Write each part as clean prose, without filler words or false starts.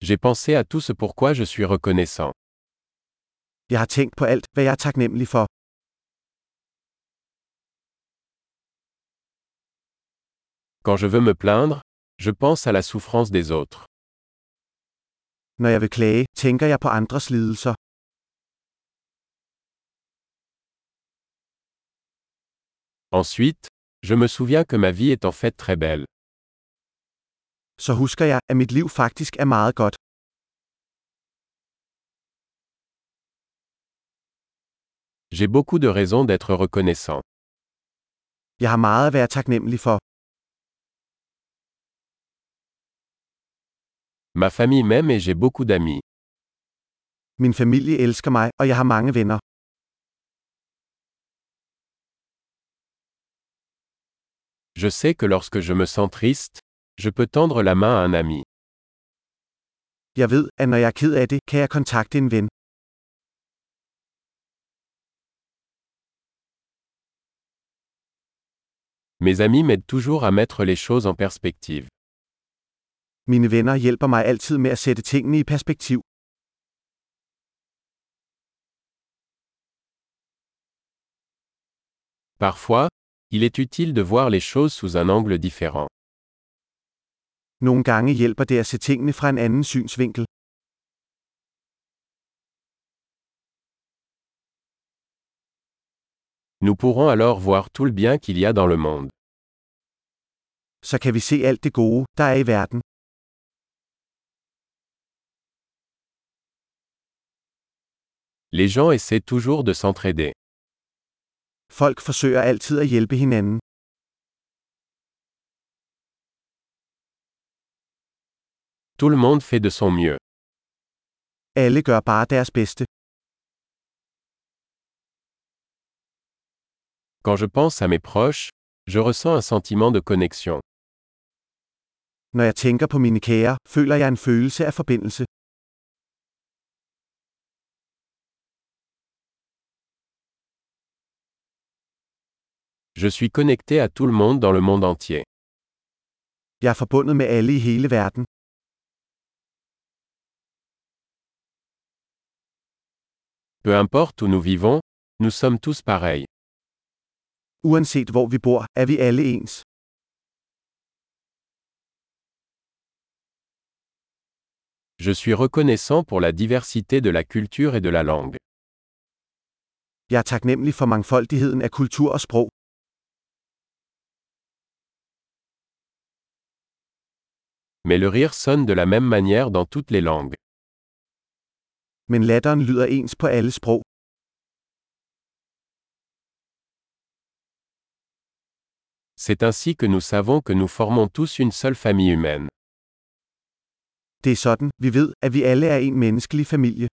J'ai pensé à tout ce pourquoi je suis reconnaissant. Jeg har tænkt på alt, hvad jeg er taknemmelig for. Quand je veux me plaindre, je pense à la souffrance des autres. Når jeg vil klage, tænker jeg på andres lidelser. Ensuite, je me souviens que ma vie est en fait très belle. Så husker jeg, at mit liv faktisk er meget godt. J'ai beaucoup de raisons d'être reconnaissant. Jeg har meget at være taknemmelig for. Ma famille m'aime et j'ai beaucoup d'amis. Min familie elsker mig, og jeg har mange venner. Je sais que lorsque je me sens triste, je peux tendre la main à un ami. Jeg ved, at når jeg er ked af det, kan jeg kontakte en ven. Mes amis m'aident toujours à mettre les choses en perspective. Mine venner hjælper mig altid med at sætte tingene i perspektiv. Parfois, il est utile de voir les choses sous un angle différent. Nogle gange hjælper det at se tingene fra en anden synsvinkel. Nous pourrons alors voir tout le bien qu'il y a dans le monde. Så kan vi se alt det gode, der er i verden. Les gens essaient toujours de s'entraider. Folk forsøger altid at hjælpe hinanden. Tout le monde fait de son mieux. Alle gør bare deres bedste. Quand je pense à mes proches, je ressens un sentiment de connexion. Når jeg tænker på mine kære, føler jeg en følelse af forbindelse. Je suis connecté à tout le monde dans le monde entier. Jeg er forbundet med alle i hele verden. Peu importe où nous vivons, nous sommes tous pareils. Uanset hvor vi bor, er vi alle ens. Je suis reconnaissant pour la diversité de la culture et de la langue. Jeg er taknemmelig for mangfoldigheden af kultur og sprog. Mais le rire sonne de la même manière dans toutes les langues. Men latteren lyder ens på alle sprog. C'est ainsi que nous savons que nous formons tous une seule famille humaine. Det er sådan, vi ved, at vi alle er en menneskelig familie.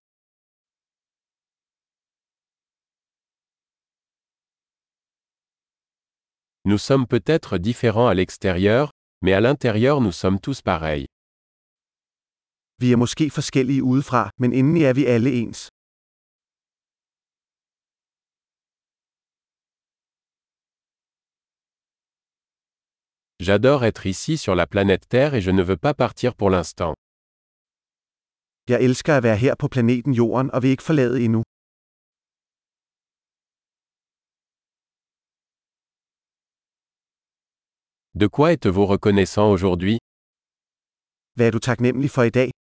Nous sommes peut-être différents à l'extérieur, mais à l'intérieur nous sommes tous pareils. Vi er måske forskellige udefra, men indeni er vi alle ens. J'adore être ici sur la planète Terre et je ne veux pas partir pour l'instant. Jeg elsker at være her på planeten Jorden og vil ikke forlade endnu. De quoi êtes-vous reconnaissant aujourd'hui? Hvad er du taknemmelig for i dag?